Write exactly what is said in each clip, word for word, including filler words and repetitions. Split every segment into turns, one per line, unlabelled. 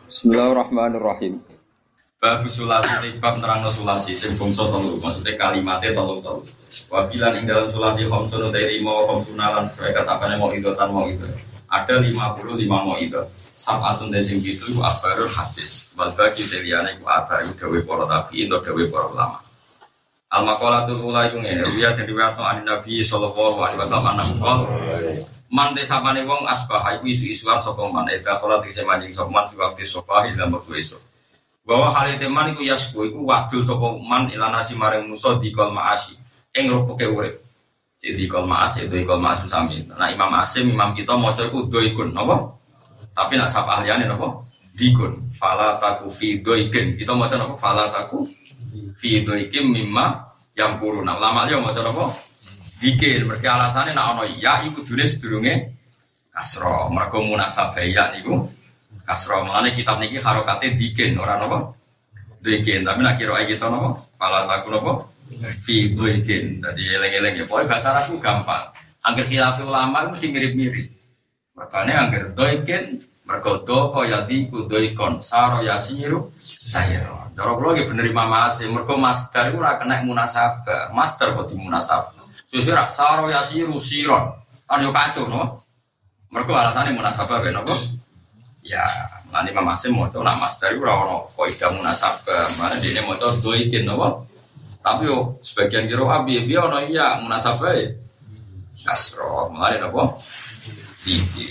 Bismillahirrahmanirrahim.
Bab sulasi bab nerangno sulasi sing bangsa telu maksudnya kalimatnya telu telu. Wa bilan ing dalam sulasi khamsun dari mau khamsunalan sesuai katane mau idotan mau itu. Ada lima puluh lima mau itu. Sab'atun desing itu abarul hadis. Wal bagi deliyane ku abar dawe para tabi'in to dawe para ulama. Al maqalatul ula iku ngene, riya den riwayatno an Nabi sallallahu alaihi wasallam naqol man desapane wong asbah iku isu-isuan sapa man eta salat isih manjing sapa man fi waktu subah ila waktu esuk. Bahwa hal teman iku yasku iku wadul sapa man ilanasi maring musa dikol maasi ing rupuke urip. Jadi dikol maasi itu dikol maasi sami. Nah Imam Asim Imam kita maca iku doikun napa? Tapi nak sapa ahliane napa? Dikun. Fala taku fi doikin. Kita maca napa? Fala taku fi doikim mimma yang kuruna. Ulama liya maca napa? Dikin. Mereka alasannya nak ono ya iku dune sedurunge kasra. Mergo munasabah ya niku kasra. Mulane kitab niki harokate dikin ora napa? Dikin. Tapi nak kira kita napa? Fala taku napa? Fi dikin. Dadi eleng-eleng ya. Pokoke bahasa Arab gampang. Angger khilaf ulama mesti mirip-mirip. Makane angger dikin mergo do kaya diku doikon saro yasiru sayro. Cara kula nggih bener Imam Asim. Mergo masdar iku ora kena munasabah. Masdar kok dimunasabah. Susira saro yasiru siron. Kan yo kacau no. Mergo alasane munasabah ben apa? Ya, mane Imam Asim maca nak masdar iku ora ono kaidah munasabah. Mane dene maca doikin apa? Tapi yo sebagian kira abi piye ono iya munasabah e. Kasro, mane apa? Iki.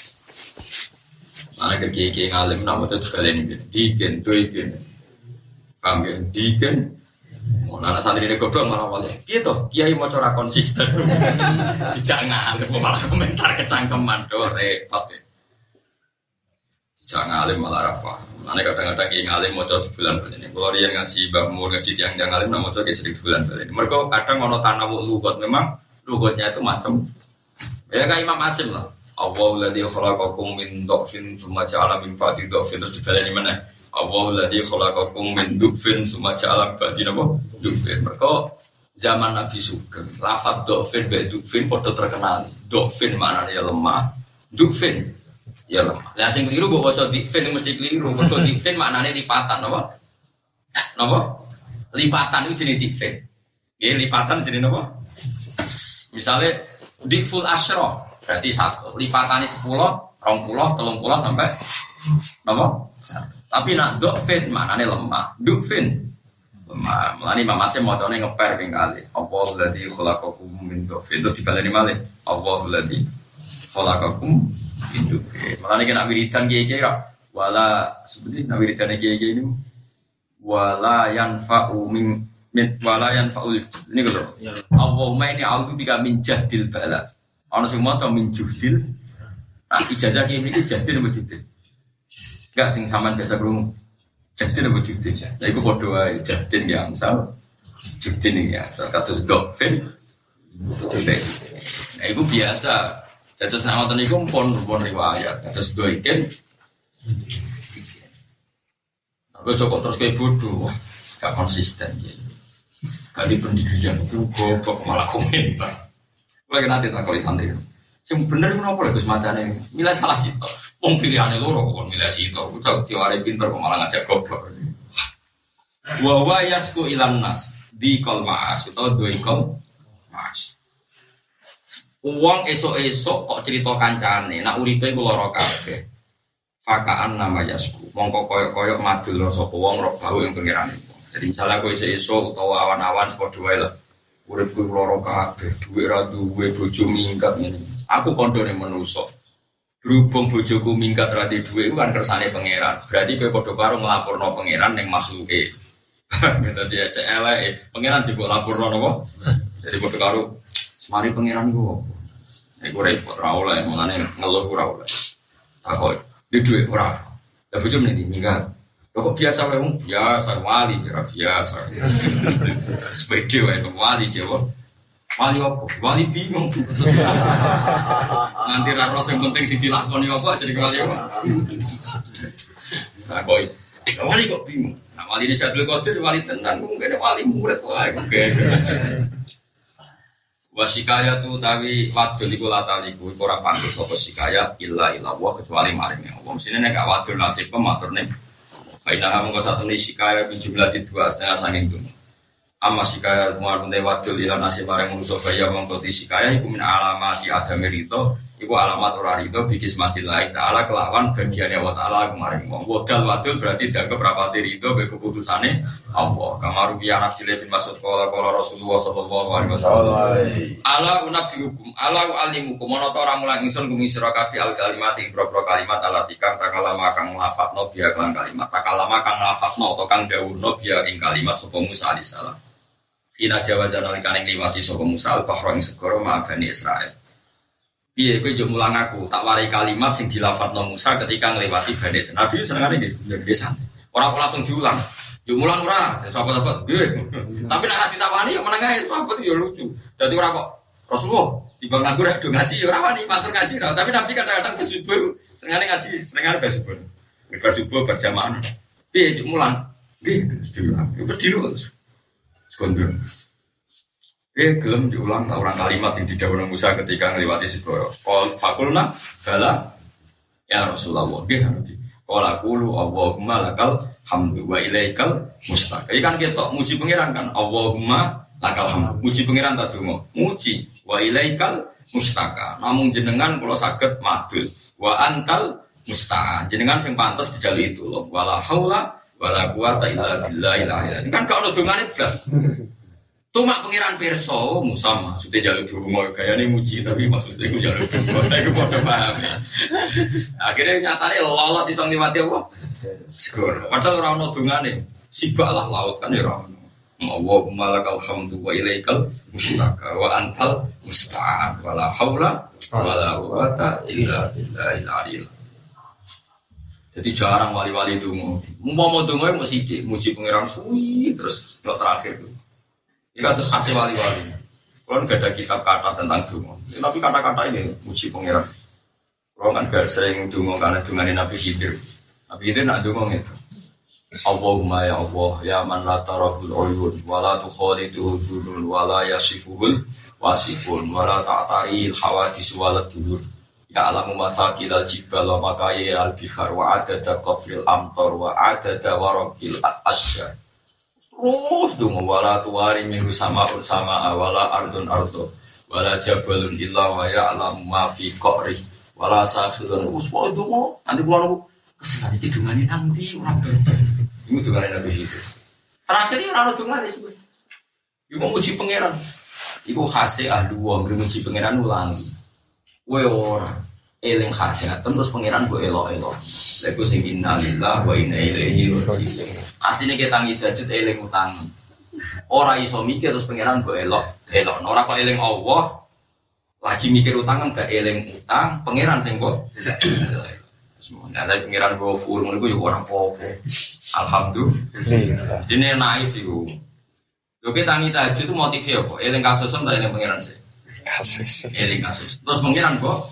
Mane keki ngalim nak maca sekalian iki. Dikin doikin. Paham ya? Dikin mau anak santri ini goblok malah wali. Gitu, kiai mau cara konsisten. Jangan alim malah komentar kecangkeman do repot ya. Jangan alim malah apa? Nanti kadang-kadang kiai alim mau coba bulan bulan ini. Kalau dia ngaji bamur ngaji tiang tiang alim, mau coba sedikit bulan bulan ini. Mereka kadang mau tanawuk lugot memang lugotnya itu macam. Ya kayak Imam Asim lah. Allahul ladzi khalaqakum min dhafin tsumma ja'ala min ba'di dhafin terus dibaleni mana? Allahul ladzi khalaqakum min dhufin tsumma ja'ala ba'di napa? Dhufin. Mergo zaman Nabi Sugeng, lafaz dhufin be dhufin padha terkenal. Dhufin maknane ya lemah, dhufin ya lemah. Lah sing keliru mbok waca dhufin mesti keliru. Mergo dhufin maknane lipatan napa? Napa? Lipatan itu jenenge dhufin. Nggih, lipatan jenenge napa? Misale dhiful asyra berarti satu. Lipatane sepuluh, dua puluh, tiga puluh sampai napa? Tapi nak dhufin maknane lemah. Dhufin lemah. Mulane Imam Asim macane ngeper ping kali. Allahul ladzi khalaqakum min dhufin. Terus dibaleni malih. Allahul ladzi khalaqakum min dhufin. Mulane kena wiridan kiye-kiye ra wala seperti nak wiridan kiye-kiye ini wala yanfa'u min min wala yanfa'ul ini lho. Allahumma inni a'udzubika min jahdil bala. Ana sing maca min juhdil. Nah ijazah kiye iki jahdil apa juhdil? Enggak sing sampean biasa krungu. Jadin apa judin? Lah iku padha wae jadin ya angsal. Judin ya angsal kados dokfin. Nah iku biasa. Dados nek wonten iku pun pun riwayat. Kados doiken. Aku cocok terus kayak bodoh. Gak konsisten ya. Gak di pendidikan itu goblok malah komentar. Lagi nanti tak kali santri. Sing bener ku napa lho Gus macane? Milih salah sito. Wong pilihane loro kok milih sito. Ucap diware pinter kok malah ngajak goblok. Wa wa yasku ilan nas di kol maas utawa doi kol maas. Wong esuk-esuk kok cerita kancane, nak uripe ku lara kabeh. Fakaan nama yasku. Mongko koyok-koyok madul sapa wong rok bau ing pengerane. Jadi misalnya kowe esuk utawa awan-awan padha wae lah. Uripku lara kabeh, duwe ra duwe bojo minggat ngene. Aku kondone menungso. Berhubung bojoku minggat ra duwe iku kan kersane pangeran. Berarti kowe padha karo nglaporno pangeran ning makhluke. Dadi cek eleke, pangeran jebok laporno napa? Jadi padha karo semari pangeran iku opo? Iku repot ra oleh, mulane ngeluh ora oleh. Takok, "Di duwe ora?" Lah bojo mrene minggat. Kok biasa wae wong biasa wali ora biasa. Sepede wae wali Jawa. Wali apa? Wali bingung. Nanti ra sing penting sing dilakoni apa jadi wali apa. Nah kok wali kok bingung. Nah wali ini Syaikhul Qadir wali tenan mungkin wali murid wae. Wasikaya tu tawi wadul iku lataliku iku ora pantes sapa sikaya illa illa wa kecuali maring Allah. Mesine nek gak wadul nasib pematurne. Faina mung satune sikaya bin jumlah dua setengah sanging dunya. Amma sikaya muarunde wadul ila nasib maring manusa kaya mongko sikaya iku min alamati adami rito. Iku alamat ora rido bikis matillahi ta'ala kelawan bagiannya wa ta'ala kemarin wong wadal wadul berarti dianggap rapati rido be keputusane Allah kamaru biya nasil bin Mas'ud qala qala Rasulullah sallallahu alaihi wasallam ala unabbiukum ala alimukum ana ta ora mulang ingsun gumi sira kabeh al kalimat ing boro kalimat alatika takalama kang lafadzno biya kelan kalimat takalama kang lafadzno utawa kang dawuhno biya ing kalimat sapa Musa alaihi salam Fina jawazan alikane ngliwati sapa Musa al-bahra ing segara magane Israil. Piye kowe yo mulang aku, tak warai kalimat sing dilafadzno Musa ketika ngliwati Bani Israil. Nabi senengane nggih nggih santai. Ora langsung diulang. Yo mulang ora, sahabat-sahabat nggih. Tapi nek ora ditawani yo meneng ae, sahabat yo lucu. Dadi ora kok Rasulullah timbang nganggur rek do ngaji ora wani matur ngaji ora. Tapi Nabi kadang-kadang bersubuh senengane ngaji, senengane bersubuh. Bersubuh berjamaah. Piye yo mulang? Nggih, diulang. Yo diulang. Sekondur. Eh gelem diulang tak orang kalimat yang didhawuhna Musa ketika ngliwati segara. Qul fakulna bala ya Rasulullah. Nggih Nabi. Qala qulu Allahumma lakal hamdu wa ilaikal mustaq. Iki kan ketok muji pangeran kan. Allahumma lakal hamdu. Muji pangeran ta donga. Muji wa ilaikal mustaq. Namung jenengan kula saged madul. Wa antal musta'an. Jenengan sing pantes dijaluki tulung. Wala haula wala quwata illa billah. Kan gak ono dongane blas. Tumak pengiran perso Musa maksudnya jalur dungo gayane muji tapi maksudnya iku jalur dungo iku padha paham ya. Akhirnya nyatane lolos iso ngliwati apa? Segara. Padahal ora ono dongane. Sibaklah laut kan ya ora ono. Allahumma lakal hamdu wa ilaikal mustaka wa antal musta'an wala haula wala quwata illa billahil aliyil. Jadi jarang wali-wali dungo. Umpama dungo mau sithik muji pengiran suwi terus tok terakhir tuh. Ini kan terus hasil wali-wali. Kalau nggak ada kitab kata tentang dungo, ya, tapi kata-kata ini muji pangeran. Kalau kan gak sering dungo karena dunganin Nabi Khidir. Nabi Khidir nak dungo itu. Allahumma ya Allah ya man la tarahul uyun wa la tukhaliduhu dhulul wa la yasifuhul wasifun wa la ta'taril hawadis wa la dhudur. Ya alamu mathaqil al-jibal wa makayi al-bihar wa adada qabril amtar wa adada waraqil asya. Terus dong wala tuwari minggu sama ur sama wala ardun ardo wala jabalun illa wa ya'lamu ma fi qari wala sakhirun uswa dong nanti kula niku kesenane didungane nang ndi ora bener. Iku dungane Nabi itu. Terakhir ora ono dungane sebenarnya. Iku muji pangeran. Iku khase ahli wong muji pangeran ulangi. Kowe ora eling hajat terus pangeran mbok elok-elok. Lha iku sing innalillahi wa inna ilaihi raji'un. Asline kita tangi dajut eling utang. Ora iso mikir terus pangeran mbok elok, elok. Ora kok eling Allah lagi mikir utang kan gak eling utang, pangeran sing mbok. Semono nek pangeran go fur ngono iku yo ora apa-apa. Alhamdulillah. Dene naif iku. Yo kita tangi dajut itu motifnya apa? Eling kasusem ta eling pangeran sih? Kasus. Eling kasus. Terus pangeran mbok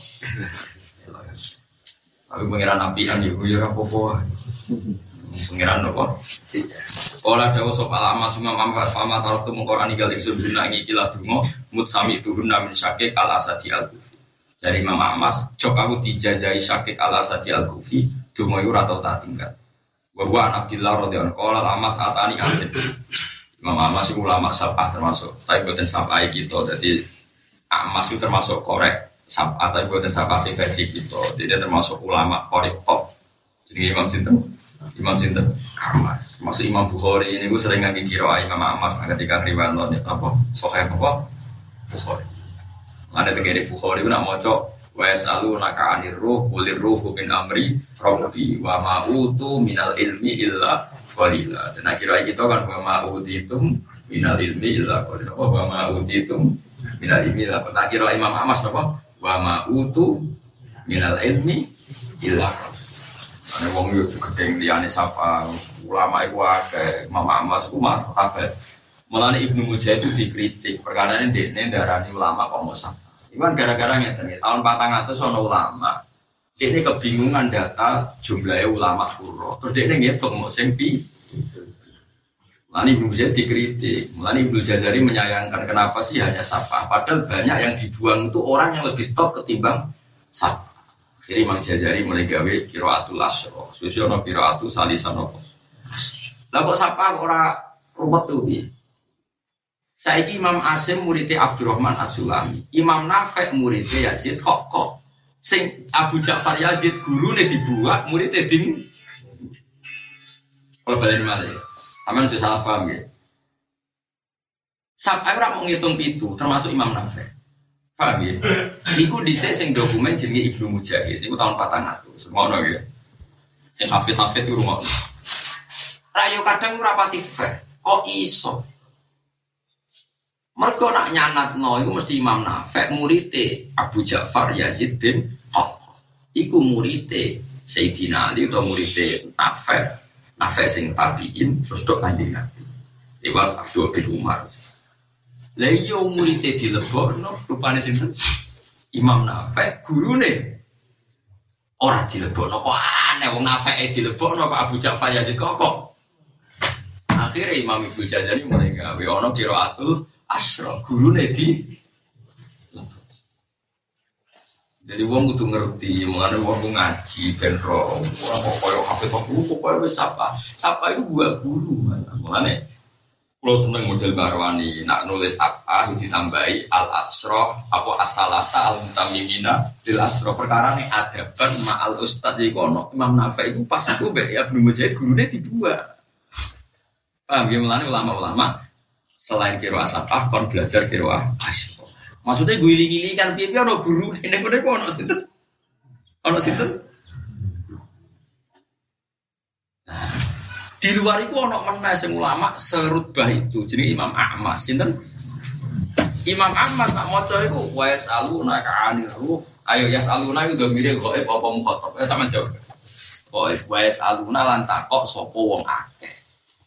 aku pengiran apian ya, gue ora apa-apa. Pengiran apa? Kala dawa sapa lama summa mampat fama taratu mengkorani gal ingsun binangi ikilah donga mut sami tuhunna min syakik al asadi al kufi. Dari Imam Ahmad, jok aku dijazai syakik al asadi al kufi, donga iku ora tau tak tinggal. Wa wa Abdillah radhiyallahu anhu qala amas atani anjib. Imam Ahmad iku ulama sabah termasuk, tapi boten sabah kita. Dadi Ahmad itu termasuk korek sab atau buatan sabasi versi gitu, jadi termasuk ulama korek top. Jadi Imam Sinten, Imam Sinten, Ahmad. Masuk Imam Bukhari ini gue sering ngaji kira Imam Ahmad ketika riwayat nonton apa, Sahih apa, Bukhari. Ada tegere Bukhari gue nak moco, wes alu naka anir ruh, ulir ruh bin amri, robbi, wa ma'utu minal ilmi illa qalila. Dan akhirnya kita kan wa ma'utitum minal ilmi illa qalila. Wa ma'utitum minal ilmi illa qalila. Tak kira Imam Ahmad apa? Wa ma'utu minal ilmi illa ana wong yo gedeng liyane sapa ulama iku akeh Mama Mas ku mah kabeh mulane Ibnu Mujahid itu dikritik perkarane dekne ndarani ulama kok mosok iku kan gara-gara ngeten tahun patang atus ana ulama dekne kebingungan data jumlahe ulama kuro terus dekne ngitung mok sing pi Mulane Ibnu Jazari dikritik, mulane Ibnu Jazari menyayangkan kenapa sih hanya sapa, padahal banyak yang dibuang itu orang yang lebih top ketimbang sapa. Jadi Imam Jazari mulai gawe qiraatul asyra, susu ono qiraatu salisan apa. Lah kok sapa ora ruwet tuh piye? Saiki Imam Asim muridé Abdurrahman As-Sulami, Imam Nafi' muridé Yazid kok kok sing Abu Ja'far Yazid gurune dibuak, muridé ding ora balen malih. Aman itu salah paham ya. Sampai orang menghitung itu, termasuk Imam Nafi. Paham ya? Iku dhisik sing dokumen jenenge Ibnu Mujahid. Iku tahun patang atus. Ngono ya. Sing hafid-hafid itu ngono. Rayo kadang ora pati fair. Kok iso? Mergo nak nyanatno iku mesti Imam Nafi murite Abu Ja'far Yazid bin Haq. Iku murite Sayyidina Ali atau murite Nafi. Nafi sing tabiin terus dok Kanjeng Nabi. Lewat Abdul bin Umar. Lah iya muridé dilebokno rupane sinten? Imam Nafi gurune ora dilebokno kok aneh wong Nafi dilebokno kok Abu Ja'far Yazid kok kok. Akhire Imam Ibnu Jazari mulai gawe ana qiraatul asyra gurune di jadi wong kudu ngerti, mengenai wong ngaji ben ro, ora kok koyo hafid kok pokoke wis sapa. Sapa itu buah guru. Mengenai kula seneng model Barwani, nak nulis apa ditambahi al-asra apa as-salasa al-mutamimina lil asra perkara ning adaban ma'al ustaz iki kono Imam Nafi iku pas aku mbek ya Ibnu Mujahid gurune dibuat. Paham ya mengenai ulama-ulama selain qiraah sapa kon belajar qiraah asyra. Maksudnya gue iling-iling kan piye-piye ana guru ini kene kok ana sinten? Ana sinten? Nah, di luar itu ana meneh sing ulama serutbah itu jenenge Imam Ahmad sinten? Imam Ahmad nak maca iku wa yasaluna ka'anir ruh. Ayo yasaluna iku domire gaib apa mukhatab. Eh sama jawab. Wa yasaluna lan takok sapa wong akeh.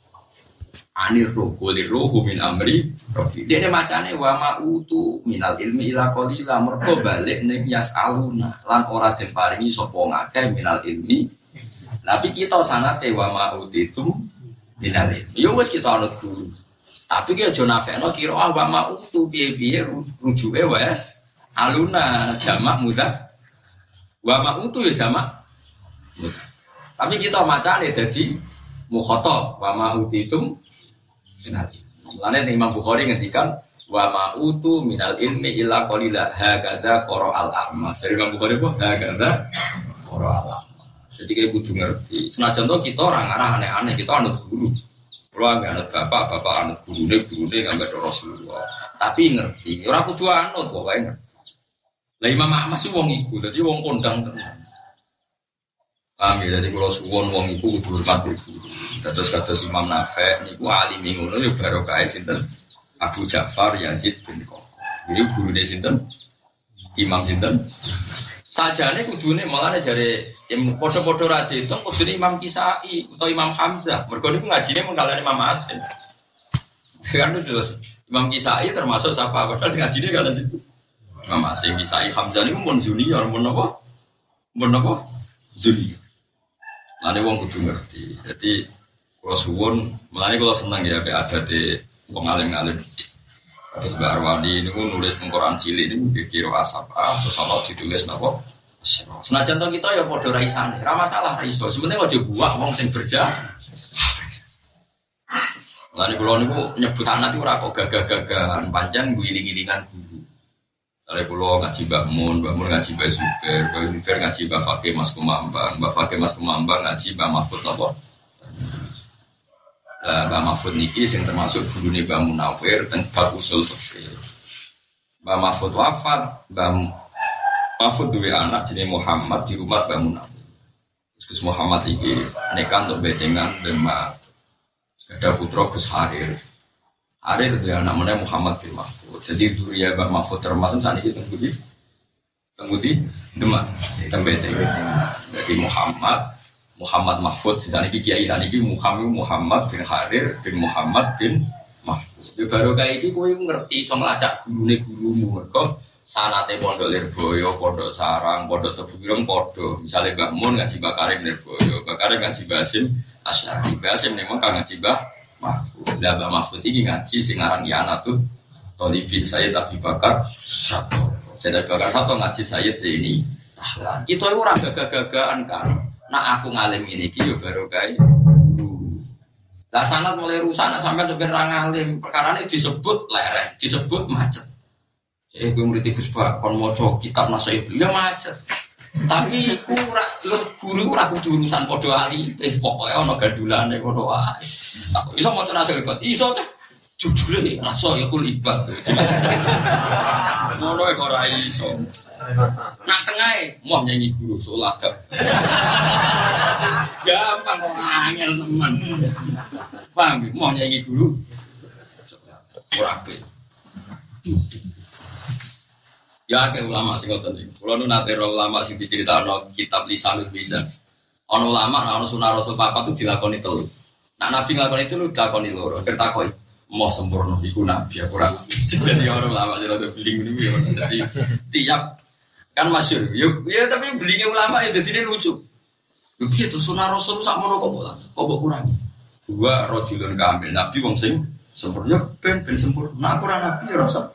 Anir ruh kulir ruhu min amri Rabbi. Dia macane wa ma'utu minal ilmi ila qalila mergo balik ning yasaluna lan ora diparingi sapa ngakeh minal ilmi. Tapi kita sanate wa ma'utitum minal ilmi. Yo wis kita anut guru. Tapi ki aja nafekno kira ah wa ma'utu piye-piye rujuke wes aluna jamak mudah. Wa ma'utu ya jamak mudah. Tapi kita macane dadi mukhatab wa ma'utitum minal ilmi. Mulane Imam Bukhari ngendikan wa ma'utu minal ilmi illa qalila hakadza qara'al a'mas. Dari Imam Bukhari kok hakadza qara'al a'mas. Jadi kayak kudu ngerti. Senajan to kita ora ngarah aneh-aneh, kita anut guru. Kalau nggak anut bapak, bapak anut gurune, gurune nggak ada Rasulullah. Tapi ngerti, ora kudu anut pokoke ngerti. Lah Imam Ahmad sih wong iku, dadi wong kondang tenan. Paham ya, jadi kalau suwon wong iku kudu hormat guru. Terus kata Imam Nafi niku alim ngono yo barokah sinten Abu Ja'far Yazid bin Qaq. Jadi gurune sinten Imam sinten sajane kudune malane jare padha-padha ra diitung kudune Imam Kisai utawa Imam Hamzah. Mergo niku ngajine mengkalane Imam Asim. Kan terus Imam Kisai termasuk sapa padahal ngajine kalian situ. Imam Asim Kisai Hamzah niku mun junior mun apa? Mun apa? Junior. Lane wong kudu ngerti. Jadi kalau suwon, malah kalau senang ya ada di wong alim-alim. Terus Mbak Arwani ini pun nulis tengkoran cilik ini kira asap ah, terus kalau ditulis napa? Senajan to kita ya padha ra isane, ra masalah ra iso. Sebenarnya aja buak wong sing berjah. Lah niku kula niku nyebut anak iku ora kok gagah-gagahan, pancen guling-gilingan guru. Sare kula ngaji Mbak Mun, Mbak Mun ngaji Mbak Zubair, Mbak Zubair ngaji Mbak Fakih Mas Kumambang, Mbak Fakih Mas Kumambang ngaji Mbak Mahfud napa? Mbak Mahfud niki sing termasuk gurune Mbak Munawir dan bab usul fikih. Mbak Mahfud wafat, Mbak Mahfud duwe anak jenenge Muhammad di rumah Mbak Munawir. Terus Muhammad iki nikah untuk bedengan Mbak ada putra Gus Harir. Harir itu anak meneh Muhammad bin Mahfud. Jadi duriya Mbak Mahfud termasuk saniki teng pundi? Teng pundi? Demak, teng bedengan. Jadi Muhammad Muhammad Mahfud, saniki kiai saniki Muhammad Muhammad bin Harir bin Muhammad bin Mahfud. Ya baru kayak iki kowe ngerti iso nglacak gurune gurumu mergo sanate pondok Lirboyo, pondok Sarang, pondok Tebu Ireng padha. Misale Mbah Mun ngaji Mbah Karim Lirboyo, Mbah Karim ngaji Mbah Hasim Asy'ari, Mbah Hasim ning Mekah ngaji Mbah Mahfud. Lah Mbah Mahfud iki ngaji sing aran Ianatul Thalibin Sayyid Abi Bakar Sato. Sayyid Abi Bakar Sato ngaji Sayyid Zaini. Kita itu ora gagah-gagahan kan. Nak aku ngalim ini iki yo baru kae guru. Lah sanad mulai rusak nak sampean sampeyan ra ngalim, perkarane disebut lereng, disebut macet. Eh gue murid Gus Pak kon maca kitab nasihat ya macet. Tapi ku ora lu guru ora kudu urusan padha ali, eh pokoke ana gandulane ngono wae. Iso maca nasihat iso teh. Jujule rasa ya kulibat. Ngono kok ora iso. Nak tengahe mau nyanyi guru salat. Gampang kok angel teman. Paham mau nyanyi guru. Ora apik. Ya ke ulama sing ngoten iki. Kula nu nate ro ulama sing diceritakno kitab Lisanul Mizan. Ana ulama ana sunah Rasul papat itu dilakoni telu. Nak nabi nglakoni telu dilakoni loro. Tertakoi mau sempurna iku nabi aku ora. Jadi orang ulama sing rada beling niku ya. Dadi tiap kan masyhur. Ya, ya tapi belinge ulama ya dadine lucu. Lho piye to sunah Rasul sakmono kok kok kok kurangi. Dua rajulun kamil nabi wong sing sempurna ben ben sempurna. Nah aku ora nabi ya rasa.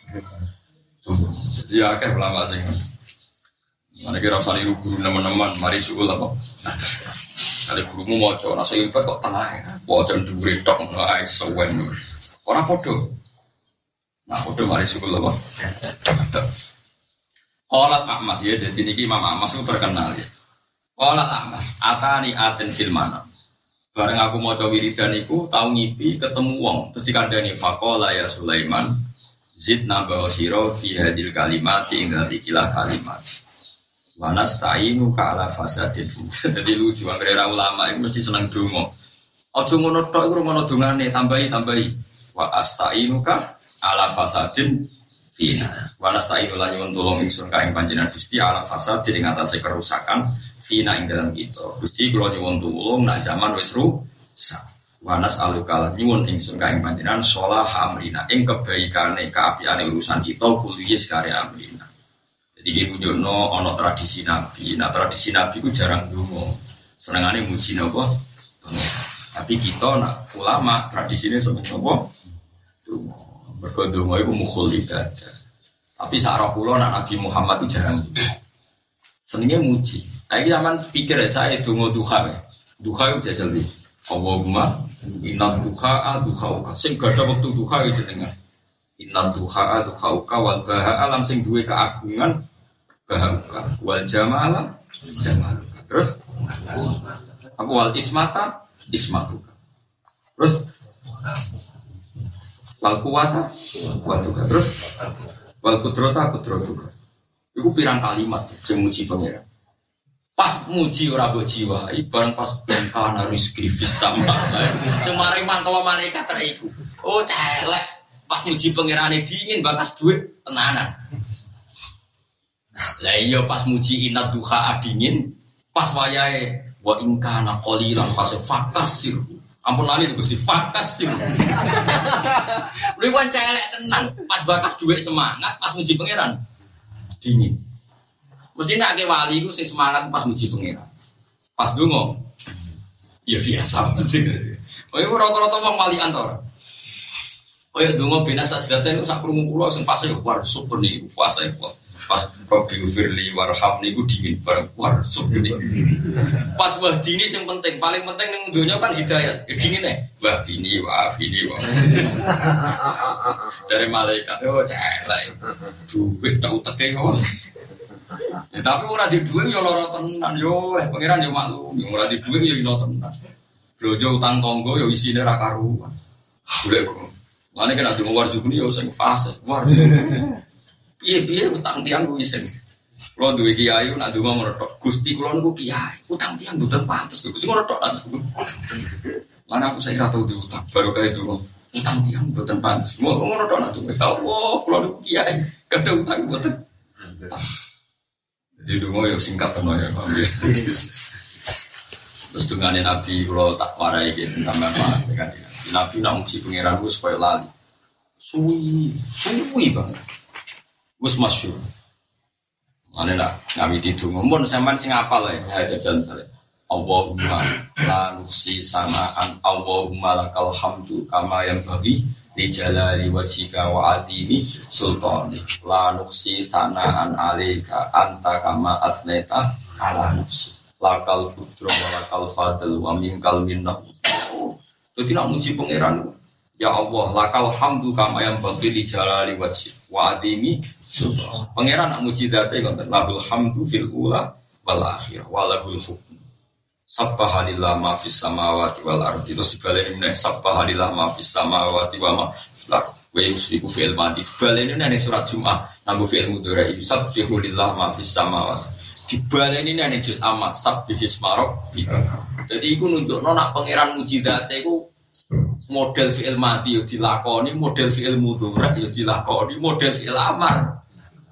Jadi ya kayak ulama sing mana kira usah niru guru teman-teman mari suul apa kali gurumu mau coba nasi ilfat kok tengah ya wajan duri tok nggak sewen orang podo nah podo mari suul apa Qalat Ahmas ya jadi niki Imam Ahmas itu terkenal ya Qalat Ahmas atani aten filmana bareng aku mau coba wiridan iku tahu ngipi ketemu wong terus dikandani faqala ya Sulaiman zidna bawasiro fi hadil kalimati ing ikilah kalimat wa nasta'inu ka ala fasadil jadi lucu anggere ulama itu mesti seneng donga aja ngono tok iku ngono dongane tambahi tambahi wa asta'inu ka ala fasadin fina wa nasta'inu lan nyuwun tulung ingsun ka ing panjenengan Gusti ala fasadin ing atase kerusakan fina ing dalam kita Gusti kula nyuwun tulung nak zaman wis rusak Wanas alukal nyuwun ingsun kaing panjenengan sholah amrina ing kebaikane kaapiane urusan kita kuliah sekare amrina. Jadi iki nunjukno ana tradisi nabi. Nah tradisi nabi ku jarang ndonga. Senengane muji napa? Tapi kita nak ulama tradisine seneng napa? Ndonga. Mergo ndonga iku mukhul ibadah. Tapi sak roh kula nak Nabi Muhammad itu jarang ndonga. Senenge muji. Saiki sampean pikir saya ndonga duha. Duha itu jajal iki. Allahumma inna duha duhauka sing gada waktu duha itu jenengan inna duha duhauka wal baha alam sing duwe keagungan bahauka wal jamalah jamaluka terus aku wal ismata ismatuka terus wal kuwata kuwatuka terus wal kudrata kudratuka iku pirang kalimat sing muji pangeran pas muji ora mbok jiwa bareng pas bengkana rizki fis sama semare mangkelo malaikat rek iku oh celek pas muji pangerane dingin bakas dhuwit tenanan lah iya pas muji inna duha dingin pas wayahe wa in kana qalilan fasfakas sir ampun lali Gusti fakas sir lha kan celek tenan pas bakas dhuwit semangat pas muji pangeran dingin. Mesti nak ke wali itu sing semangat pas muji pangeran. Pas donga. Ya biasa. Oh iku rata-rata wong wali antara. Oh ya donga bena sajdaten sak krungu kula sing fase war super niku fase pas Rabbi firli warhamni ku dingin bareng war super niku. Pas wahdini sing penting, paling penting ning donya kan hidayat. Ya dingin e. Wahdini wa afini wa. Jare malaikat yo celek. Duwit tak uteke kok. Ya, tapi ora di dhuwit ya lara tenan yo, eh pangeran yo maklum, ora di dhuwit yo ino tenan. Blojo utang tangga yo isine ra karuan. Golek kok. Mane kena dungo warjubune yo sing fase. War. Piye-piye utang tiyang ku isin. Kula duwe kiai nak donga ngono tok. Gusti kula niku kiai, utang tiyang mboten pantes. Gusti ngono tok. Mana aku saya tau diutang, baru kae donga. Utang tiyang mboten pantes. Ngono tok nak donga. Allah, kula niku kiai, kada utang mboten. Jadi dulu ya singkat teman ya, terus dengan Nabi kalau tak warai gitu tambah apa dengan Nabi nak muji pangeran gue supaya lali, suwi suwi banget, gue masyhur, mana nak Nabi di dulu, mun sampean sing apal ya, jajan saya, Allahumma la nuhsi sana'an Allahumma lakal hamdu kama yanbaghi li jalali wajhika wa azimi sultanik la nuhsi sana'an alaika anta kama athneta ala nafsi lakal budra wa lakal fadl wa minkal minnah. Jadi nak muji pangeran, ya Allah lakal hamdu kama yanbaghi li jalali wajhika wa azimi sultanik. Pangeran nak muji dzate ngoten lahul hamdu fil ula wal akhirah wa lahul hukm. Sabbaha lillah ma fis samawati wal ardi. Terus dibaleni meneh sabbaha lillah ma fis samawati wa ma fil ardi. Wa yusriku fil madi. Dibaleni nang surat Jumat nganggo fi'il mudhari. Sabbihu lillah ma fis samawati. Dibaleni nang juz amma sabbihis marok. Jadi iku nunjukno nak pangeran mujizate iku model fi'il madi yo dilakoni, model fi'il mudhari yo dilakoni, model fi'il amar.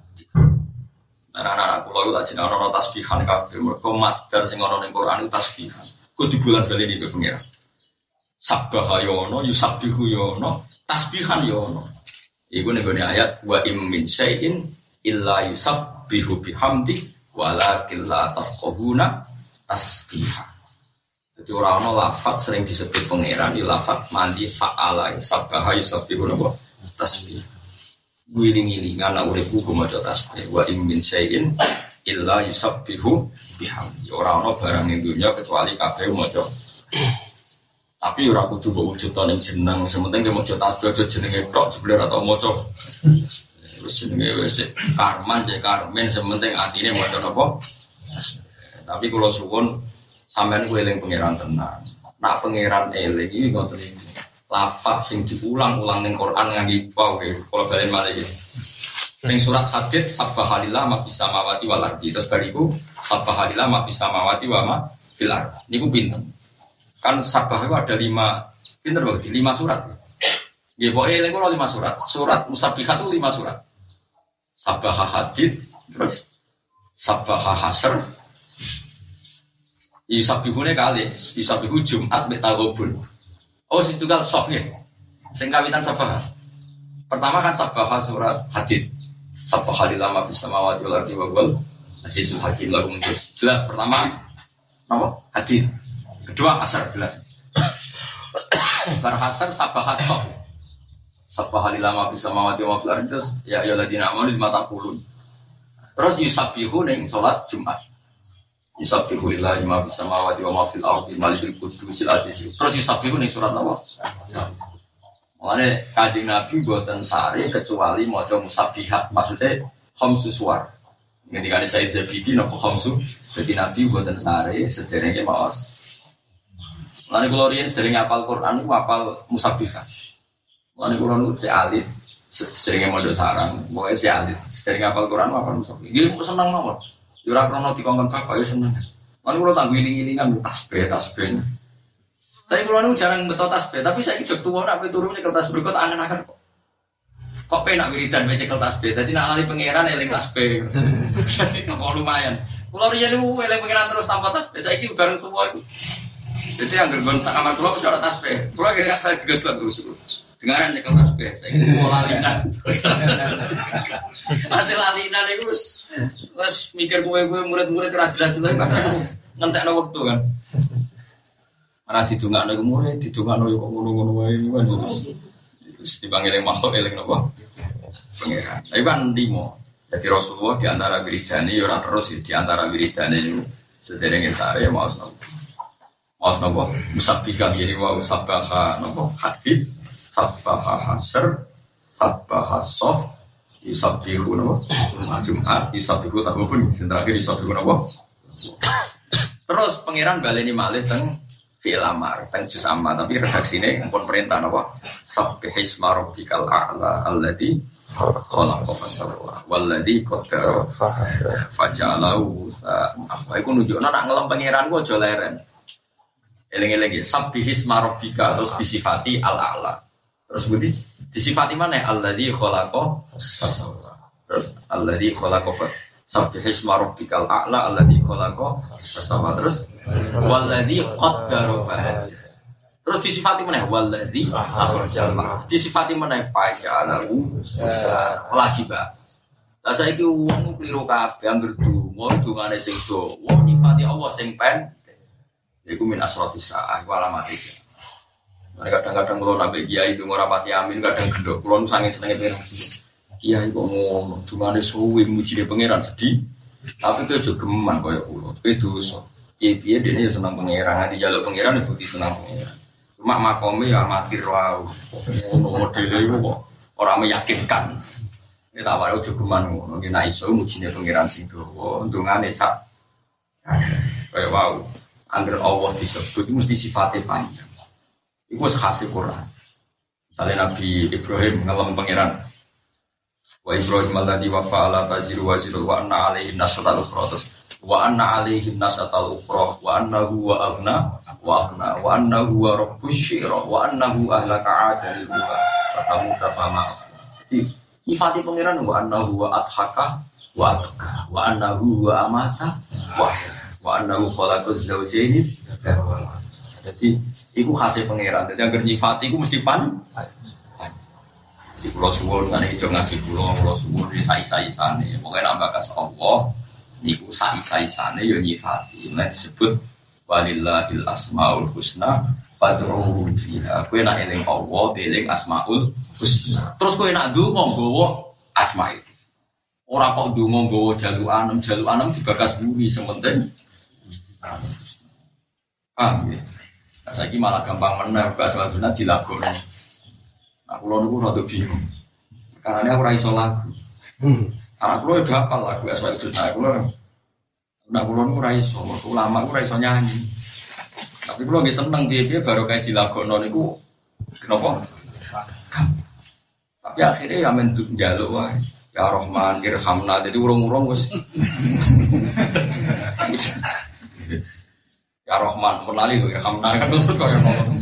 Anak-anak kula iku tak jeneng ana tasbihan kabeh. Mergo masdar sing ana ning Quran iku tasbihan. Kudu bulan-baleni ke pengira. Sabbaha ya ana, yusabbihu ya ana, tasbihan ya ana. Iku ning ayat wa im min syai'in illa yusabbihu bihamdi walakin la tafqahuna tasbiha. Jadi ora ana lafaz sering disebut pengiran di lafaz mandi fa'ala sabbaha yusabbihu napa tasbih. Guling-gilingan nak uripku maca tasbih wa in min syai'in illa yusabbihu bihamdi. Ora ana barang ning dunya kecuali kabeh maca. Tapi ora kudu mbok wujudane jeneng, sementing maca tasbih aja jenenge tok jebule atau maca. Wis jenenge wis Karman cek Karmen sementing atine maca napa? Tapi kula suwun sampeyan kuwi eling pangeran tenan. Nak pangeran eling iki ngoten iki. Lafaz sing diulang-ulang ning Quran ngangge wae kula balen malih iki. Ning surat Hadid sabbahalillah ma fis samawati wal ardi. Terus bariku sabbahalillah ma fis samawati wa ma fil ardi. Niku pinten? Kan sabbah itu ada lima pinter berarti lima surat. Nggih pokoke eling kula lima surat. Surat Musabbihat itu lima surat. Sabbah Hadid, terus Sabbah Hasyr. Yusabbihune kali, yusabbihu Jumat mek Taghabun. Oh, situ kan soft ya. Sing kawitan sabah. Pertama kan sabah surat Hadid. Sabbahalillah ma fis samawati wal ardi wa huwal azizul hakim lagu muncul. Jelas pertama apa? Hadid. Kedua Hasyr jelas. Bar Hasyr sabah soft. Sabbahalillah ma fis samawati wa fil ardi terus ya ayyuhalladzina amanu lima taqulun. Terus yusabbihu ning salat Jumat. Yusabbihu lillahi ma fis samawati wa ma fil ardi malikul qudusil aziz. Terus yusabbihu ning surat apa? Mulane Kanjeng Nabi mboten sare kecuali maca musabbihat. Maksudnya khamsu suwar. Ngendikane Said Zabidi napa khamsu? Jadi Nabi mboten sare sederenge maos. Mulane kula riyen sederenge hafal Quran niku hafal musabbihat. Mulane kula nu cek alit sederenge mondok sarang, pokoke cek alit sederenge hafal Quran hafal musabbihat. Nggih seneng mawon. Yo ora krono dikongkon bapak yo seneng. Lan kula tak ngiling-ngilingan tasbih tasbih. Tapi kula nu jarang beto tasbih, tapi saiki jek tuwa nek turun nyekel tasbih kok angen-angen kok. Kok penak wiridan nyekel tasbih. Dadi nek lali pangeran eling tasbih. Jadi kok lumayan. Kula riyen niku eling pangeran terus tanpa tasbih, saiki bareng tuwa iku. Jadi anggere gon tak kamar kula wis ora tasbih. Kula kira saya digeslek lucu. Dengaran nyekel tasbih, saiki kula lalinan. Mati lalinan iku wis wis mikir kowe-kowe murid-murid ora jelas-jelas padahal ngentekno wektu kan. Ora didongakno iku murid, didongakno yo kok ngono-ngono wae kan. Wis dipanggil makhluk eling napa? Pangeran. Iku kan limo. Jadi Rasulullah di antara wiridane yo ora terus di antara wiridane niku sederenge sare maos napa. Maos napa? Musabbihan jadi wa sabbaha napa? Hadid, sabbaha hasyr, sabbaha sof, yusabbihu napa? Jumat, yusabbihu Taghabun, sing terakhir yusabbihu napa? Terus pangeran baleni malih teng fi'il amar, teng juz amma, tapi redaksine pun perintah napa? Sabbihisma rabbikal a'la alladzi khalaqa fasawwa walladzi qaddara faja'alahu apa iku nunjukno nak ngelem pangeran ku aja leren. Eling-eling ya, sabbihisma rabbika terus disifati al-a'la. Terus budi disifati mana? Alladzi khalaqa fasawwa. Terus alladzi khalaqa sabbihisma rabbikal a'la alladzi khalaqa fasawwa. Terus walladzi qaddara fahad. Terus disifati mana? Walladzi akhrajal ma. Disifati mana? Faja'alahu lagi ba. Lah saiki wong kliru kabeh anggere donga dongane sing do. Wong nyifati Allah sing pen. Iku min asrotis saah, iku alamat itu. Mereka kadang-kadang kalau nabi kiai itu ngorapati amin, kadang gendok. Kalau nusangin senengnya pengiran, kiai kok ngomong, cuma ada suwi muji dia pengiran sedih. Tapi itu juga geman kayak ulo, itu dosa. Kiai-kiai dia senang pengiran, nanti jaluk pengiran itu senang pengiran. Cuma makomnya ya amatir wow, modelnya itu kok orang meyakinkan. Ini tak walau juga geman, mungkin nak iso muji dia pengiran sing doa, untungane sak. Kayak wow. Angger Allah disebut itu mesti sifatnya panjang. Itu khasnya Quran. Misalnya Nabi Ibrahim ngelam pangeran. Wa Ibrahim alladzi wafa ala taziru waziru wa anna alaihi nasatal ukhra. Wa anna alaihi nasatal ukhra wa annahu wa aghna wa aghna wa annahu wa rabbus syira wa annahu ahlaka adal wa fatamuta fama. Jadi sifatnya pangeran wa annahu wa adhaka wa adka wa annahu wa amata wa wa annahu khalaqaz zawjaini. Jadi iku khasé pangeran. Dadi anggere nyifati iku mesti pan. Di kula suwun kan iki ngaji kula, kula suwun iki sai-saisane. Pokoke nek bakas Allah niku sai-saisane ya nyifati. Nek disebut walillahil asmaul husna fad'uhu biha. Kowe nek eling Allah, eling asmaul husna. Terus kowe nek ndonga nggawa asma itu. Ora kok ndonga nggawa jalukan, jalukan dibakas bumi sementing. Paham ya? Nah, saya ini malah gampang menang bahas waduna dilagokno. Aku lho niku rada bingung. Karena aku ora iso lagu. Karena aku udah hafal lagu asal waduna aku lho. Nek kula niku ora iso, ulama aku ora iso nyanyi. Tapi kula nggih seneng piye-piye baru kayak dilagokno niku kenapa? Tapi akhirnya ya men njaluk wae. Ya Rahman irhamna, jadi urung-urung wis. Ya Rahman, menali lho irhamna kan terus kaya ngomong.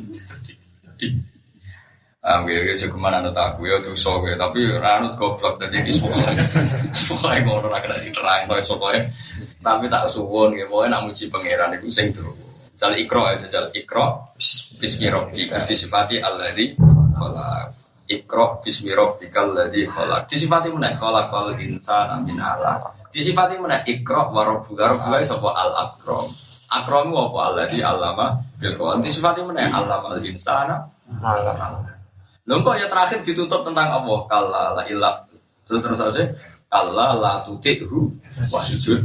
Ah, gue juga kemana nut aku ya tuh so gue, tapi ranut goblok tadi di sekolah. Sekolah ngono ra kena diterang kaya sekolah. Tapi tak suwun nggih, pokoke nak muji pangeran iku sing terus. Jal Iqra ya, jal Iqra bismi rabbika disifati alladzi khalaq. Iqra bismi rabbikal ladzi khalaq. Disifati meneh khalaqal insana min 'alaq. Disifati meneh Iqra wa rabbuka rabbuka sapa al akram. Akramu apa alladzi allama bil qalam. Disifati meneh allamal insana ma. Lho kok ya terakhir ditutup tentang Allah. Kalla la ilah. Terus aja kalla la tuti'hu wasjud.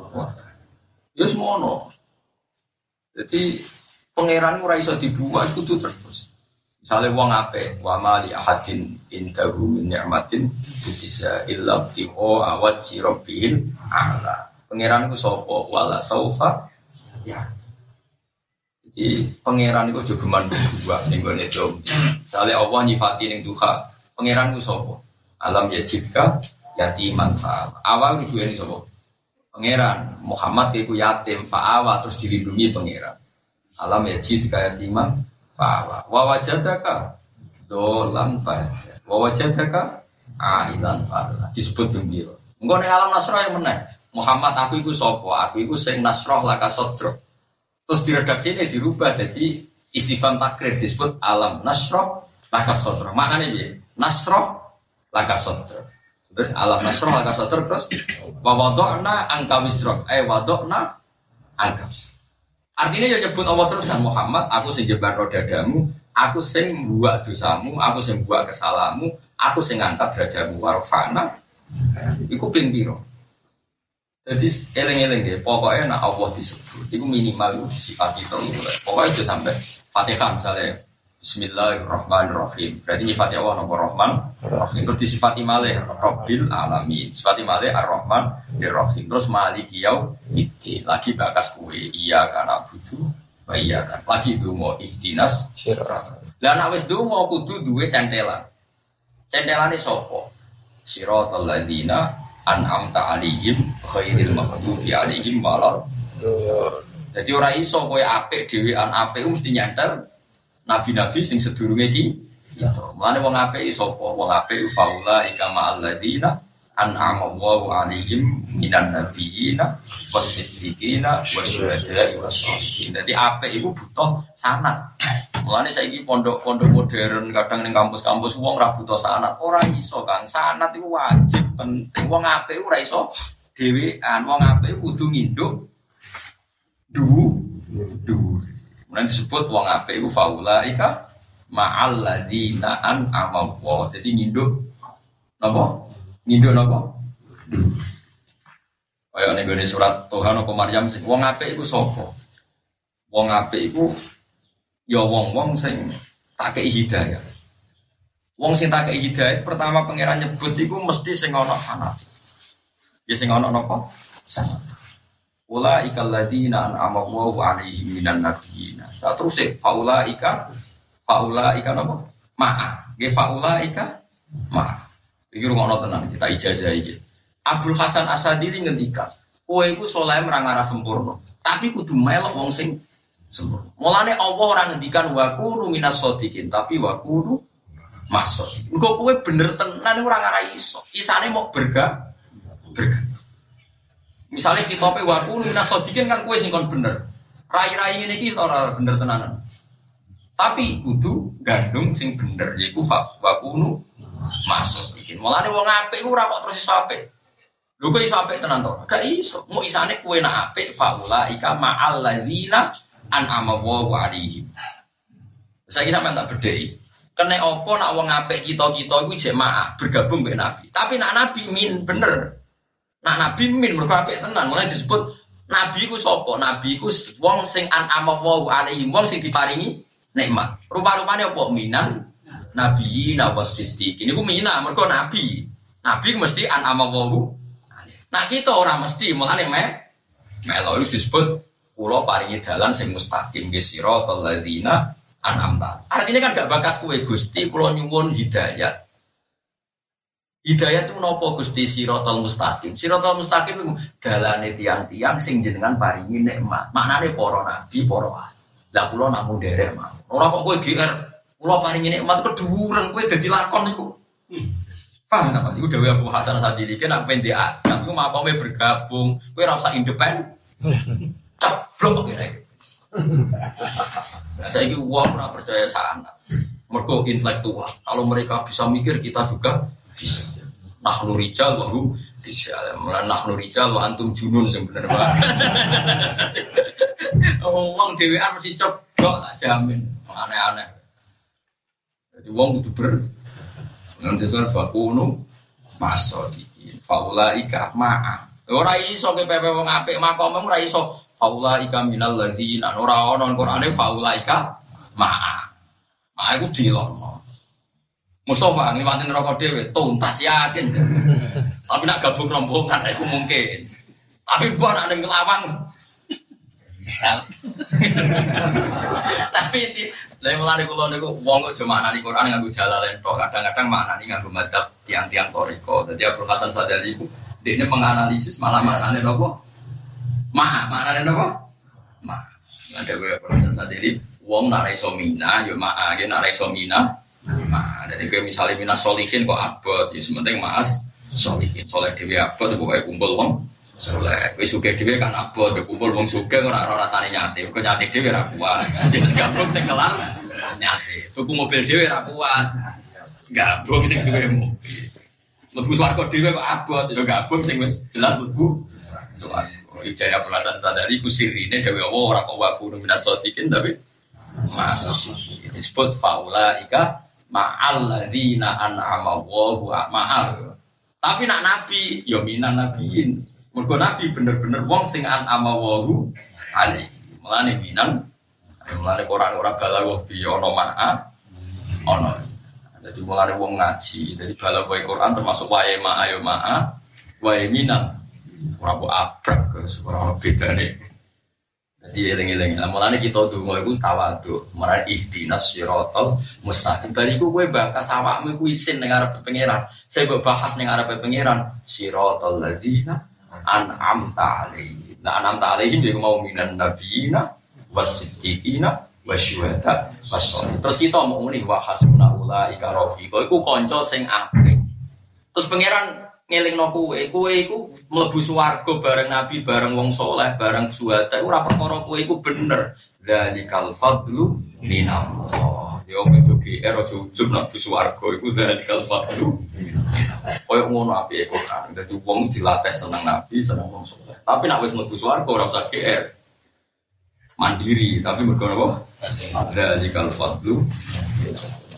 Ya semono. Jadi pangeran ora iso dibuat kudu terus. Misale wong apik, wa mali ahadin indahu min ni'matin bisa illa tiho awat rabbil ala. Pangeran ku sapa? Wala saufa ya. Jadi pangeran itu juga mandua ning gone dom. Misale Allah nyifati ning duha, pangeran ku sapa? Alam yajidka yatiman fa. Awal rujuke ni sapa? Pangeran Muhammad iku yatim fa'awa terus dilindungi pangeran. Alam yajidka yatiman fa'awa. Wa wajadaka dolan fa. Wa wajadaka ailan fa. Disebut gembira. Engko ning alam nasrah yang meneh. Muhammad aku iku sapa? Aku iku sing nasrah laka sodro. Terus diredaksine dirubah jadi istifham takrir disebut alam nasrah laka sodro. Maknane piye? Nasrah laka sodro. Terus alam nasrah laka sodro terus wa wada'na angka wisrak. Eh wada'na angka. Artinya ya nyebut Allah terus kan Muhammad, aku sing jebar dadamu, aku sing mbuak dosamu, aku sing mbuak kesalahanmu, aku sing ngangkat derajatmu warfa'na. Iku ping piro? Jadi eling-eling ya, pokoknya nak Allah disebut, itu minimal disifati terus. Pokoknya itu sampai Fatihah misalnya, Bismillahirrahmanirrahim. Berarti nyifati Allah nomor Rahman, Rahim. Terus disifati malih Rabbil Alamin, disifati malih Ar-Rahman, Ar-Rahim. Terus Maliki Yaumiddin. Lagi bakas kue, iya karena butuh, iya kan. Lagi dungo ihdinas siratal. Lah nek wis dungo kudu duwe centelan. Centelane sapa? Siratal ladzina an'amta 'alaihim ghairil maghdubi 'alaihim walad. Jadi ora iso kowe apik dhewean apik mesti nyantel nabi-nabi sing sedurunge iki. Mulane wong apik sapa? Wong apik faula ikama alladzina an'ama Allahu 'alaihim minan nabiyina wasiddiqina wasyuhada'i wassalihin. Dadi apik iku butuh sanad. Mulane saiki pondok-pondok modern kadang ning kampus-kampus wong ora butuh sanad. Ora iso, Kang. Sanad iku wajib penting. Wong apik ora iso dhewean. Wong apik kudu nginduk du dhuwur. Mulane disebut wong apik iku faulaika ma'al ladzina an'ama Allah. Jadi nginduk napa? Nginduk napa? Kaya ning gone surat Tuhan apa Maryam sing wong apik iku sapa? Wong apik iku ya wong-wong sing tak kei hidayah. Wong sing tak kei hidayah pertama pangeran nyebut iku mesti sing ana sanad. Ya sing ana napa? Sanad. Ulaika alladziina an'ama Allahu 'alaihim minan nabiyyin. Terus e faulaika faulaika napa? Ma'a. Nggih faulaika ma'a. Iki rungokno tenan kita ijazah iki. Abdul Hasan Asadili ngendika, kowe iku saleh marang arah sempurna, tapi kudu melok wong sing sempurna. Mulane Allah ora ngendikan wa kunu minas shodiqin, tapi wa kunu masuk. Engko kowe bener tenan ora ngarah iso. Isane mau berga berga. Misalnya khitope wa kunu minas shodiqin kan kowe sing kon bener. Rai-rai ngene iki ora bener tenanan. Tapi kudu gandung sing bener yaiku wa kunu masuk. Mulane wong apik ku ora kok terus iso apik. Lho kok iso apik tenan to? Gak iso. Mu isane kowe nak apik faula ika ma'al ladzina an'ama Allahu 'alaihim. Saiki sampean tak bedheki. Kene apa nak wong apik kita-kita iku jek ma'ah bergabung mbek Nabi. Tapi nak Nabi min bener. Nak Nabi min mergo apik tenan. Mulane disebut Nabi ku sapa? Nabi ku wong sing an'ama Allahu 'alaihim, wong sing diparingi nikmat. Rupa-rupane apa? Minan Nabi nawasiti. Ini ku mina mergo Nabi. Nabi ku mesti an'ama Allahu. Nah kita orang mesti mulane me melo itu disebut kula paringi dalan sing mustaqim ge siratal ladzina an'amta. Artinya kan gak bakas kowe Gusti kula nyuwun hidayah. Hidayah itu napa Gusti siratal mustaqim? Siratal mustaqim iku dalane tiang-tiang sing jenengan paringi nikmat. Maknane para nabi, para wali. Lah kula namung derek mawon. Ora kok kowe G R kula paringi nikmat keduwuren kowe dadi lakon iku. Hmm. Paham tak? Iku dawuh Abu Hasan Asadili ki nek pendek agam iku mapome bergabung, kowe ora usah independen. Ceblok kene. Nah, saiki wong ora percaya sanad. Mergo intelektual. Kalau mereka bisa mikir kita juga bisa. Nahnu rijal wa hum bisa. Mulane nahnu rijal wa antum junun sing bener banget. Wong dhewean mesti ceblok tak jamin. Aneh-aneh. Jadi wong kudu ber nanti tuan fakunu masodikin faulaika ma'a ora iso ke pepe wong apik makom ora iso faulaika minal ladzina ora ana Qur'ane faulaika ma'a ma'a iku dilono Mustafa ngliwati neraka dhewe tuntas yakin tapi nak gabung rombongan iku mungkin tapi mbok nak ning nglawan tapi lha mulane kula niku wong kok cuma maknani Quran nganggo jalalain tok, kadang-kadang maknani nganggo madzhab tiang-tiang toriko. Dadi Abdul Hasan Sadali iku dekne menganalisis malah maknane napa? Ma, maknane napa? Ma. Lan dhewe Abdul Hasan Sadali wong nek iso mina ya ma, nek nek iso mina. Ma, dadi kowe misale minas sholihin kok abot, ya sementing Mas sholihin. Saleh dhewe abot pokoke kumpul wong saleh. Wis sugih dhewe kan abot, kumpul wong sugih ora ora rasane nyate. Kok nyate dhewe ora kuat. Wis gabung sing kelar nyate. Tuku mobil dhewe ora kuat. Gabung sing duwe mobil. Mlebu swarga dhewe kok abot, ya gabung sing wis jelas mlebu swarga. Ijaya pelasan sadari ku sirine dhewe Allah ora kok wa kudu minas shodiqin tapi masuk. Disebut faulaika ma'al ladzina an'ama Allahu ma'al. Tapi nak nabi ya minan nabiin. Mergo nabi bener-bener wong sing an'ama Allahu alaihi. Mulane minan mulane Quran ora balaghah bi ana ma'a ana. Dadi mulane wong ngaji, dadi balaghah Quran termasuk wae ma'a ya ma'a, wae minan. Ora kok abrak ora bedane. Dadi eling-eling. Lah mulane kita ndonga iku tawadhu, marang ihdinas siratal mustaqim. Bariku kowe bakas awakmu iku isin ning arep pangeran. Saya mbok bahas ning arep pangeran siratal ladzina an'amta alaihim. Nah an'amta alaihim iku mau minan nabiyina wasiddiqina wasyuhada wasolihin. Terus kita mau muni wa hasbuna ulaika rafiqa. Iku kanca sing apik. Terus pangeran ngelingno kowe, kowe iku mlebu swarga bareng nabi, bareng wong saleh, bareng syuhada. Ora perkara kowe iku bener. Dzalikal fadlu minallah. Yo metu G R aja ujug nang swarga iku dzalikal fadlu. Koyo ngono apike Quran. Dadi wong dilatih seneng nabi, seneng wong saleh. Tapi nek wis mlebu swarga ora usah G R. mandiri, tapi mergo apa? Ada jika fadlu